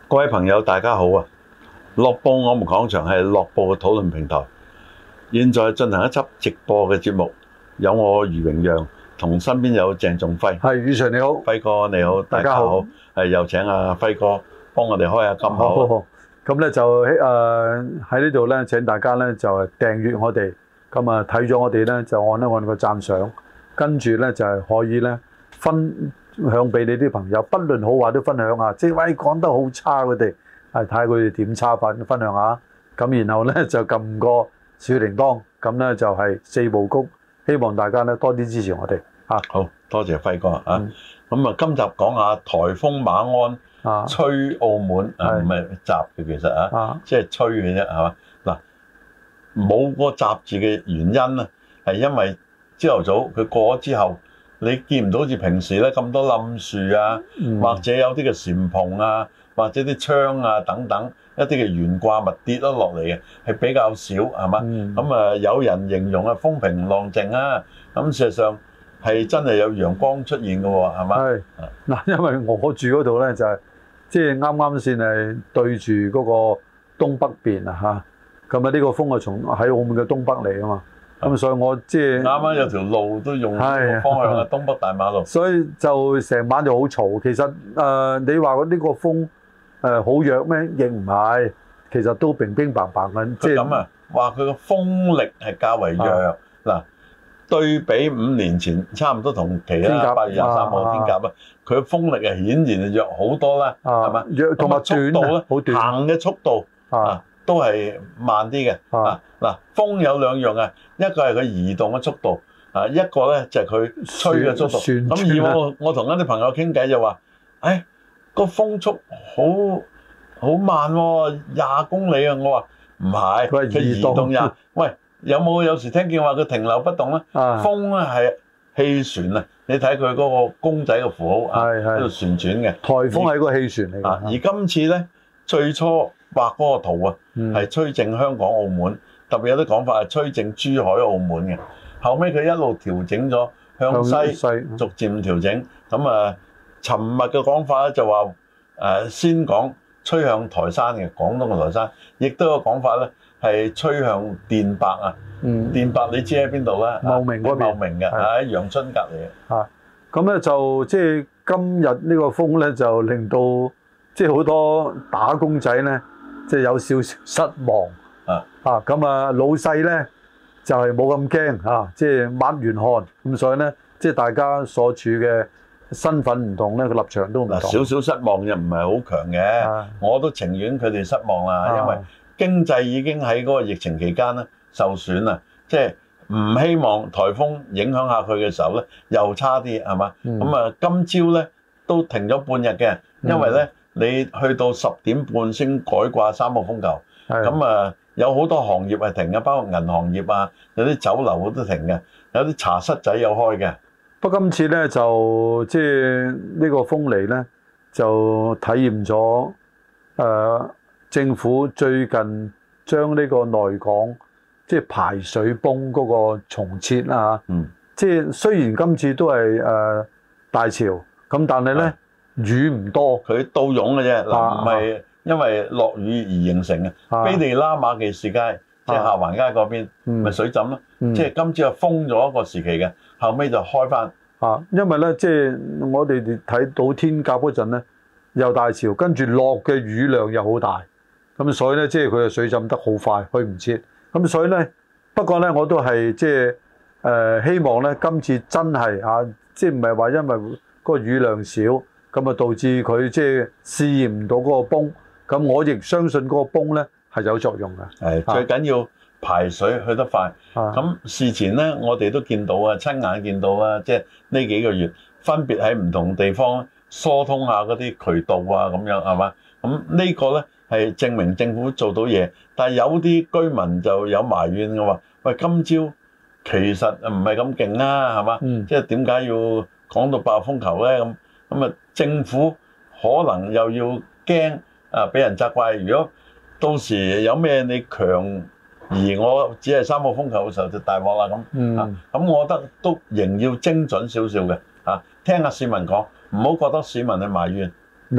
各位朋友，大家好啊！樂報我們講場係樂報嘅討論平台，現在進行一輯直播嘅節目，有我余榮讓同身邊有鄭仲輝。 係，余 Sir 你好， 輝哥你好，大家好。又請阿輝哥幫我哋開下金口。 好。咁咧就喺呢度咧，請大家咧就訂閱我哋，咁啊睇咗我哋咧就按個讚賞，跟住咧就係可以咧分享俾你啲朋友，不論好壞都分享下。即係喂講得好差佢哋，睇下佢哋點差法分享下。咁然後咧就撳個小鈴鐺，咁咧就係四部曲，希望大家咧多啲支持我哋。 好多謝輝哥啊！咁今集講下颱風馬鞍吹澳門唔係襲嘅，其實即係吹嘅啫，係嘛？嗱，冇個襲字嘅原因咧，係因為朝頭早佢過咗之後，你見唔到好似平時咧咁多冧樹啊，或者有啲嘅簷篷啊，或者啲窗啊等等一啲嘅懸掛物跌咗落嚟嘅，係比較少，係嘛？咁有人形容風平浪靜啊，咁事實上係真係有陽光出現嘅喎，係嘛？係嗱，因為我住嗰度咧就係即係啱啱先係對住嗰個東北邊啊嚇，咁呢個風係從喺澳門嘅東北嚟啊嘛，咁所以我即係啱啱有條路都用方向係東北大馬路，所以就成晚就好嘈。其實你話呢個風好弱咩？亦唔係，其實都乒乒乓乓嘅。即係咁啊，話佢個風力係較為弱嗱。對比5年前差唔多同期啦，8月23號天鴿啦，佢風力係顯然係弱好多啦，係嘛？弱同埋速度咧，行嘅速度都係慢啲嘅。嗱，風有兩樣啊，一個係佢移動嘅速度，一個咧就係佢吹嘅速度。咁以我同一啲朋友傾偈就話，個風速好慢喎，20公里啊！我話唔係，佢移動20。喂。有時聽見話佢停留不動咧？風咧係氣旋啊！你睇佢嗰個公仔嘅符號喺度旋轉嘅。颱風係個氣旋嚟嘅。而今次咧最初畫嗰個圖啊，係吹正香港、澳門，特別有啲講法係吹正珠海、澳門嘅。後尾佢一路調整咗向西，逐漸調整。咁尋日嘅講法咧就話先講吹向台山嘅廣東嘅台山，亦都有講法咧。係吹向電白啊！電白你知喺邊度咧？茂名嗰邊，茂名嘅喺陽春隔離嘅。咁咧就即係今日呢個風咧，就令到即係好多打工仔咧，即係有少少失望。咁老細咧就係冇咁驚即係抹完汗咁，所以咧即係大家所處嘅身份唔同咧，個立場都唔同。少少失望又唔係好強嘅，我都情願佢哋失望啦，因為經濟已經喺嗰個疫情期間咧受損啦，即係唔希望颱風影響下佢嘅時候咧又差啲係嘛？咁今朝咧都停咗半日嘅，因為咧你去到10點半先改掛3號風球，咁有好多行業係停嘅，包括銀行業啊，有啲酒樓都停嘅，有啲茶室仔有開嘅。不過今次咧就即係呢個風嚟咧就體驗咗政府最近將呢個內港即係排水泵嗰個重設啦嚇，即係雖然今次都係大潮，咁但係咧雨唔多，佢倒湧嘅啫，唔係因為落雨而形成嘅。卑地拉馬記士街即係下環街嗰邊，咪水浸咯。即係今朝就封咗一個時期嘅，後尾就開翻。因為咧即係我哋睇到天鴿嗰陣咧，又大潮，跟住落嘅雨量又好大。咁所以咧，即係佢嘅水浸得好快，去唔切。咁所以咧，不過咧，我都係即係希望咧，今次真係即係唔係話因為嗰個雨量少，咁導致佢即係試驗唔到嗰個泵。咁我亦相信嗰個泵咧係有作用嘅。最緊要排水去得快。咁事前咧，我哋都見到親眼見到即係呢幾個月分別喺唔同地方疏通下嗰啲渠道咁樣係嘛？咁呢個咧。係證明政府做到嘢，但係有啲居民就有埋怨嘅話，喂，今朝其實唔係咁勁啊，係嘛？即係點解要講到爆風球咧？咁政府可能又要驚俾人責怪。如果到時有咩你強而我只係3號風球嘅時候就大鑊啦咁。咁我覺得都仍要精準少少嘅聽下市民講，唔好覺得市民係埋怨嗱。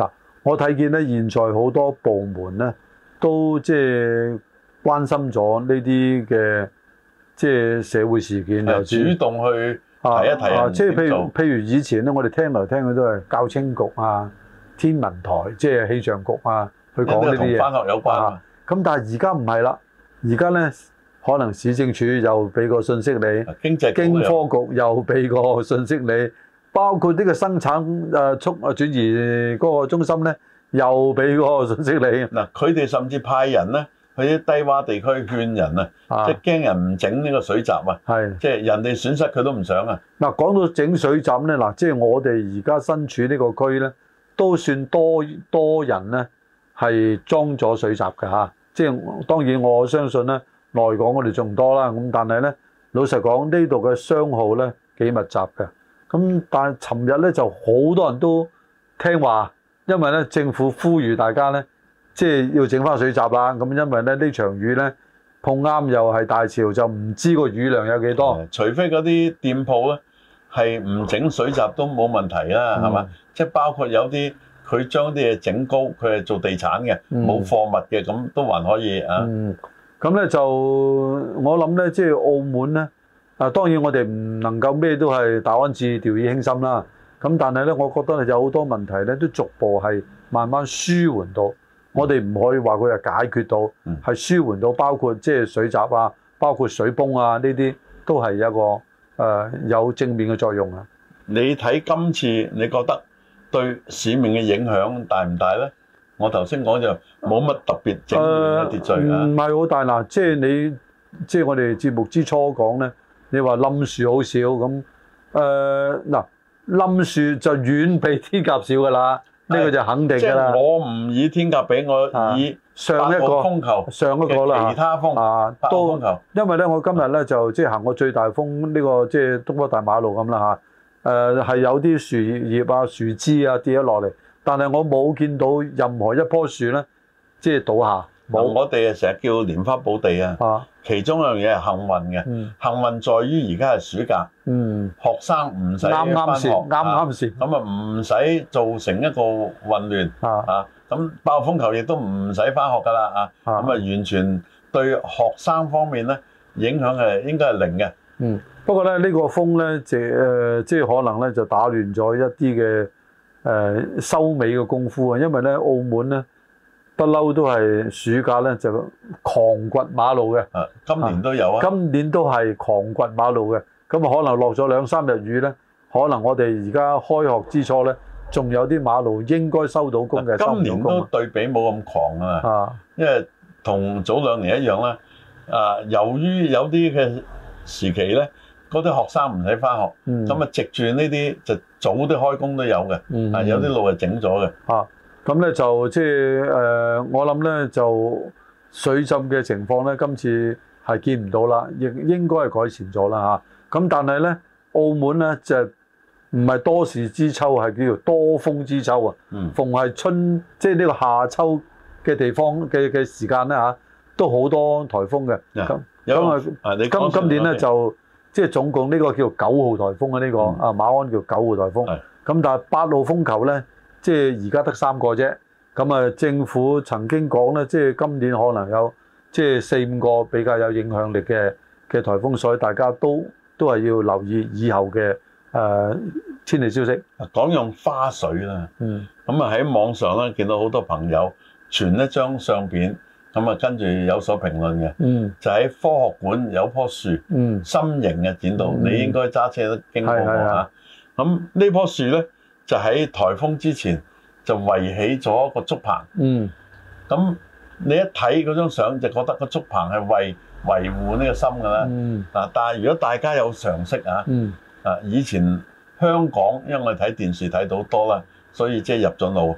我睇見咧，現在好多部門咧都即係關心咗呢啲嘅即係社會事件，又主動去提一提即係譬如以前咧，我哋聽嚟聽去都係教青局啊、天文台即係氣象局啊去講呢啲嘢， 同返學有關。 咁但係而家唔係啦，而家咧可能市政署又俾個信息你，經科局又俾個信息你。包括呢個生產轉移嗰個中心咧，又俾嗰個信息你。 嗱，佢哋甚至派人咧去啲低洼地區勸人啊，即係驚人唔整呢個水閘啊。係，即係人哋損失佢都唔想啊。 嗱，講到整水閘咧，嗱，即係我哋而家身處呢個區咧，都算多人咧係裝咗水閘嘅嚇。即係當然我相信咧，內港我哋仲多啦。咁但係咧，老實講呢度嘅商號咧幾密集嘅。咁但係尋日咧就好多人都聽話，因為咧政府呼籲大家咧，即係要整翻水閘啦。咁因為咧呢場雨咧碰啱又係大潮，就唔知個雨量有幾多。 除非嗰啲店鋪咧係唔整水閘都冇問題啦，係嘛？即係包括有啲佢將啲嘢整高，佢係做地產嘅，冇貨物嘅，咁都還可以啊。 咁咧就我諗咧，即係澳門咧。當然我哋唔能夠咩都係大安旨意掉以輕心啦。咁但係咧，我覺得有好多問題咧，都逐步係慢慢舒緩到。我哋唔可以話佢係解決到，係舒緩到，包括即係水閘啊，包括水泵啊，呢啲都係一個有正面嘅作用啊。 你睇今次，你覺得對市面嘅影響大唔大咧？我頭先講就冇乜特別整亂嘅秩序啊。 唔係好大嗱，即係我哋節目之初講咧。你話冧樹好少咁，嗱冧樹就遠比天鴿少噶啦，呢個就肯定㗎啦。 即係我唔以天鴿比，我以上一個風球上一個啦， 其他風都因為咧，我今日咧就即係行過最大風呢個即係東北大馬路咁啦嚇，係有啲樹葉啊、樹枝啊跌咗落嚟，但係我冇見到任何一棵樹咧即係倒下。 我哋成日叫蓮花寶地啊，其中一樣嘢係幸運嘅。幸運在於而家係暑假，學生唔使返學， 啱時， 咁啊唔使造成一個混亂咁爆風球亦都唔使返學㗎啦咁啊完全對學生方面咧影響係應該係零嘅。 不過咧呢個風咧即係可能咧就打亂咗一啲嘅收尾嘅功夫啊，因為咧澳門咧。不嬲都係暑假咧就狂掘馬路嘅， 今年都有啊， 今年都係狂掘馬路嘅，咁啊可能落咗2-3日雨咧，可能我哋而家開學之初咧，仲有啲馬路應該收到工嘅， 今年都對比冇咁狂啊，因為同早2年一樣啦，由於有啲嘅時期咧，嗰啲學生唔使返學，咁啊藉住呢啲就早啲開工都有嘅，有啲路係整咗嘅。 咁咧就即係我諗咧就水浸嘅情況咧，今次係見唔到啦，亦應該係改善咗啦嚇。咁但係咧，澳門咧就唔係多事之秋，係叫做多風之秋啊。逢係春即係呢個夏秋嘅地方嘅時間咧嚇，都好多颱風嘅。咁今年咧就即係總共呢個叫9號颱風啊，呢個馬鞍叫9號颱風。咁但係8號風球咧。即係而家得3個啫，咁啊政府曾經講咧，即係今年可能有即係4-5個比較有影響力嘅颱風，所以大家都係要留意以後嘅天氣消息。 講用花水啦，咁啊喺網上咧見到好多朋友傳一張相片，咁啊跟住有所評論嘅，就喺科學館有棵樹，心形嘅剪到，你應該揸車都經過過嚇。咁呢棵樹咧。就喺颱風之前就圍起咗個竹棚，咁你一睇嗰張相就覺得個竹棚係為維護呢個心㗎啦。但係如果大家有常識以前香港因為我哋睇電視睇到多啦，所以即係入咗腦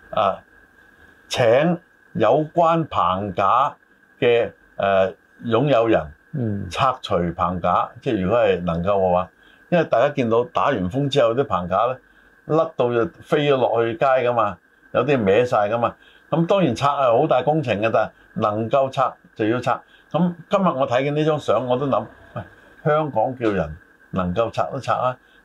請有關棚架嘅擁有人拆除棚架，即係如果係能夠嘅話，因為大家見到打完風之後啲棚架咧。甩到就飛咗落去街㗎嘛，有啲歪晒㗎嘛。咁當然拆係好大工程嘅，但係能夠拆就要拆。咁今日我睇見呢張相，我都諗，喂，香港叫人能夠拆都拆啊。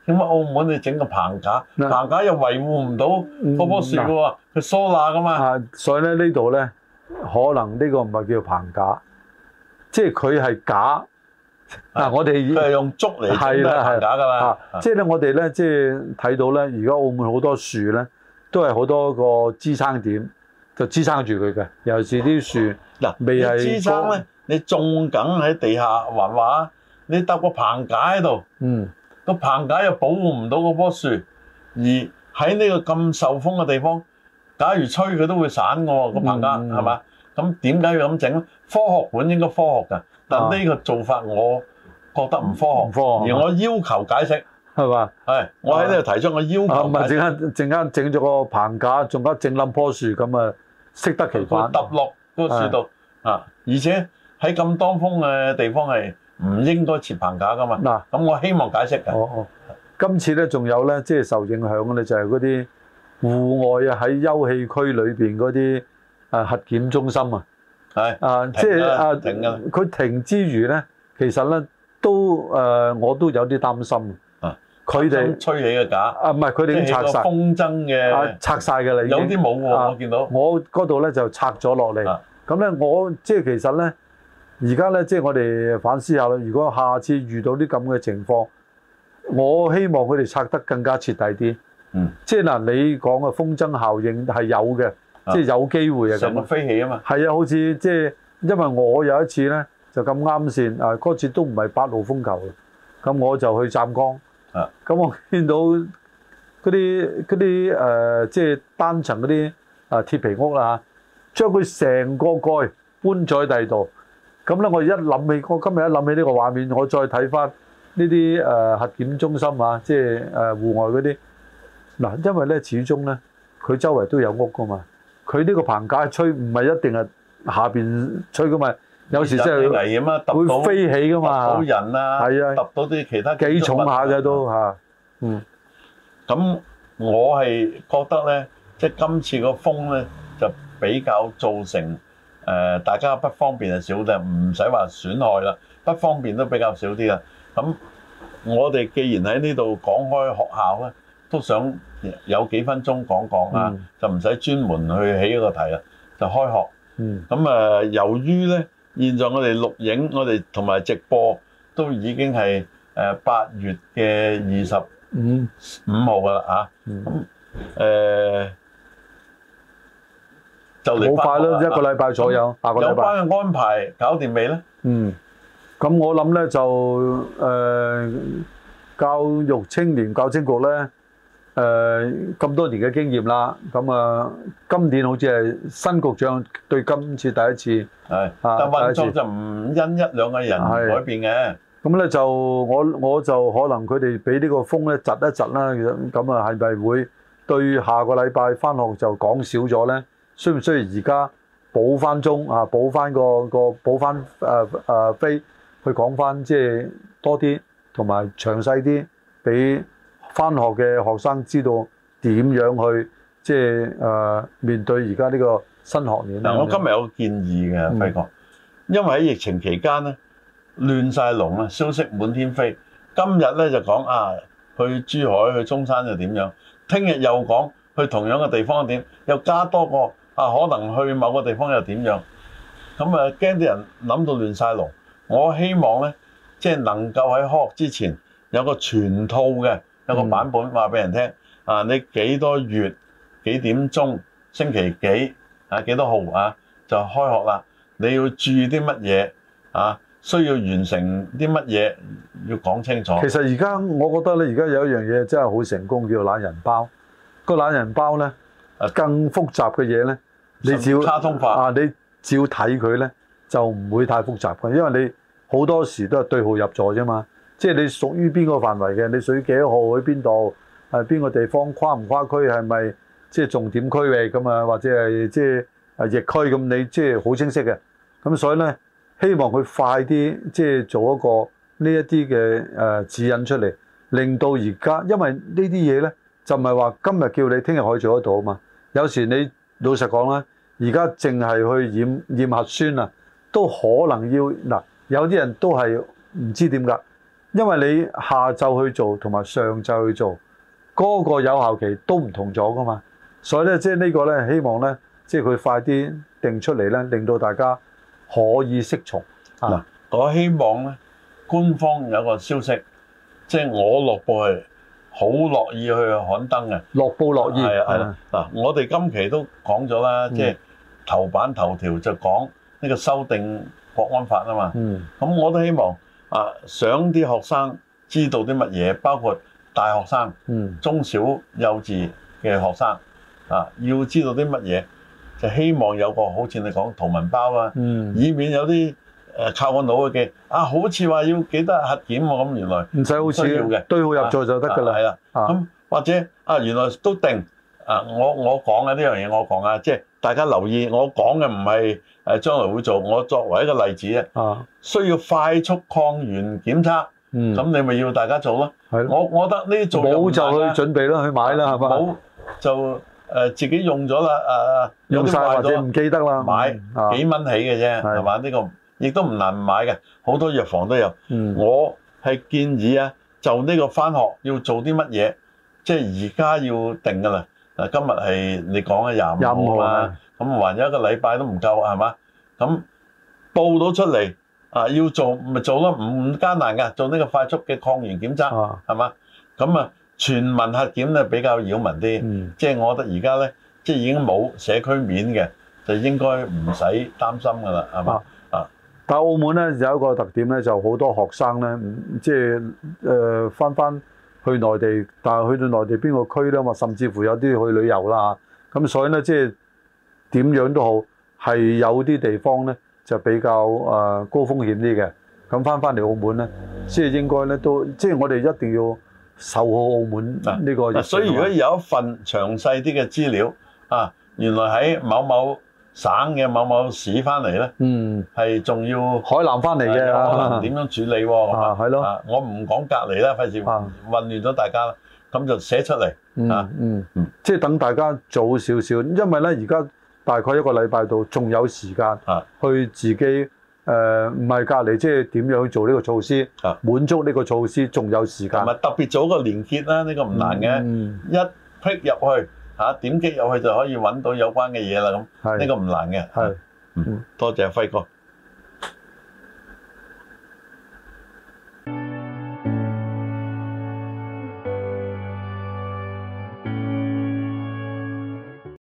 點解澳門你整個棚架，棚架又維護唔到嗰棵樹嘅喎，佢疏罅噶嘛。 所以咧呢度咧，可能呢個唔係叫棚架，即係佢係架。我哋佢係用竹嚟整棚架㗎啦。 即係咧，我哋咧即係睇到咧，而家澳門好多樹咧，都係好多個支撐點，就支撐住佢嘅。尤其是啲樹未係支撐咧，你種緊喺地下橫畫，你搭個棚架喺度，個棚架又保護唔到嗰棵樹，而喺呢個咁受風嘅地方，假如吹佢都會散㗎喎，個棚架係嘛？咁點解要咁整咧？科學本應該科學㗎，但呢個做法我覺得唔科學，而我要求解釋係嘛？ 係我喺呢度提出我要求。 唔係陣間整咗個棚架，仲加整冧棵樹咁啊，適得其反。 揼落嗰個樹度而且喺咁當風嘅地方係唔應該設棚架㗎嘛。咁我希望解釋㗎。 今次咧仲有咧，即係受影響嘅咧，就係嗰啲戶外喺休憩區裏邊嗰啲核檢中心即係停㗎。 佢停之餘咧，其實咧都我都有啲擔心。佢哋吹起嘅架唔係佢哋已經拆晒風箏嘅拆晒㗎啦，已經有啲冇喎，我見到我嗰度咧就拆咗落嚟。咁咧我即係其實咧，而家咧即係我哋反思下啦。如果下次遇到啲咁嘅情況，我希望佢哋拆得更加徹底啲。即係嗱，你講嘅風箏效應係有嘅，即係有機會成個飛起啊嘛。 係啊，好似即係因為我有一次咧就咁啱線嗰次都唔係8號風球，咁我就去湛江。咁我見到嗰啲即係單層嗰啲鐵皮屋啦，將佢成個蓋搬咗喺第二度。咁咧我今日一諗起呢個畫面，我再睇翻呢啲核檢中心即係戶外嗰啲嗱，因為咧始終咧佢周圍都有屋噶嘛，佢呢個棚架吹唔係一定係下邊吹噶嘛。有時真係危險啊！ 會飛起噶嘛， 揼到人啊，揼到啲其他幾重下嘅都咁我係覺得咧，即係今次個風咧就比較造成大家不方便係少啲，唔使話損害啦，不方便都比較少啲啦。咁我哋既然喺呢度講開學校咧，都想有幾分鐘講就唔使專門去起一個題啦，就開學。咁由於咧。現在我哋錄影，我哋同埋直播都已經係8月嘅25號㗎啦咁就嚟好快咯，一個禮拜左右，下個禮拜。 有關嘅安排搞掂未咧？ 咁我諗咧就教育青年教青局咧咁多年嘅經驗啦，咁今年好似係新局長對今次第一次。 但運作就唔因一兩個人改變嘅。 咁咧就我就可能佢哋俾呢個風咧窒一窒啦，咁係咪會對下個禮拜翻學就講少咗咧？需唔需要而家補翻鐘補翻補翻飛去講翻即係多啲同埋詳細啲，俾翻學嘅學生知道點樣去即係面對而家呢個新學年。 我今日有個建議嘅輝哥，因為喺疫情期間咧亂晒龍啦，消息滿天飛。今日咧就講去珠海去中山又點樣，聽日又講去同樣嘅地方點，又加多個可能去某個地方又點樣。咁驚啲人諗到亂晒龍。我希望咧即係能夠喺開學之前有個全套嘅有個版本話俾人聽。你幾多月幾點鐘星期幾幾多號就開學啦？你要注意啲乜嘢需要完成啲乜嘢要講清楚。 其實而家我覺得咧，而家有一樣嘢真係好成功，叫懶人包。個懶人包咧更複雜嘅嘢咧，你只要卡通化你只要睇佢咧就唔會太複雜嘅，因為你好多時都係對號入座啫嘛。即係你屬於邊個範圍嘅，你屬於幾多號去邊度？邊個地方跨唔跨區，係咪即係重點區域咁或者係即係疫區咁？你即係好清晰嘅。咁所以咧，希望佢快啲即係做一個呢一啲嘅指引出嚟，令到而家，因為呢啲嘢咧就唔係話今日叫你，聽日可以做得到啊嘛。有時你老實講啦，而家淨係去驗核酸都可能要嗱，有啲人都係唔知點㗎。 因為你下晝去做同埋上晝去做，嗰個有效期都唔同咗噶嘛。所以咧，即係呢個咧，希望咧，即係佢快啲定出嚟咧，令到大家可以適從。 嗱，我希望咧，官方有個消息，即係我樂報係好樂意去刊登嘅。樂報樂意係啦。嗱，我哋今期都講咗啦，即係頭版頭條就講呢個修訂國安法啊嘛。咁我都希望想啲學生知道啲乜嘢，包括大學生、中小幼稚嘅學生。要知道啲乜嘢，就希望有個好似你講圖文包啊，以免有啲靠個腦去記好似話要記得核檢喎，咁原來唔使好需要嘅，對號入座就得㗎啦。係啦，咁或者原來都定我講嘅呢樣嘢，我講即係大家留意，我講嘅唔係將來會做，我作為一個例子需要快速抗原檢測，咁你咪要大家做咯。我覺得呢啲做冇就去準備啦，去買啦，係嘛？冇就自己用咗啦，用晒或者唔記得啦，買幾蚊起嘅啫，係嘛？呢個亦都唔難買嘅，好多藥房都有。我係建議就呢個返學要做啲乜嘢，即係而家要定㗎啦。今日係你講嘅25號啊，咁還有一個禮拜都唔夠係嘛？咁報到出嚟要做咪做咯，唔艱難㗎，做呢個快速嘅抗原檢測係嘛？咁全民核檢咧比較擾民啲，即係我覺得而家咧，即係已經冇社區面嘅，就應該唔使擔心㗎啦，係嘛？但係澳門咧有一個特點咧，就好多學生咧，即係翻去內地，但係去到內地邊個區咧嘛，甚至乎有啲去旅遊啦，咁所以咧即係點樣都好，係有啲地方咧就比較高風險啲嘅，咁翻嚟澳門咧，即係應該咧都，即係我哋一定要守好澳門呢個。所以如果有一份詳細啲嘅資料原來喺某某省嘅某某市翻嚟咧，係仲要海南翻嚟嘅，可能點樣處理喎？係咯，我唔講隔離啦，費事混亂咗大家啦。咁就寫出嚟即係等大家早少少，因為咧而家大概一個禮拜度，仲有時間去自己。唔係隔離，即係點樣做呢個措施？滿足呢個措施，仲有時間。特別做個連結啦，呢個唔難嘅。一 click 入去點擊入去就可以揾到有關嘅嘢啦。咁呢個唔難嘅。多謝輝哥。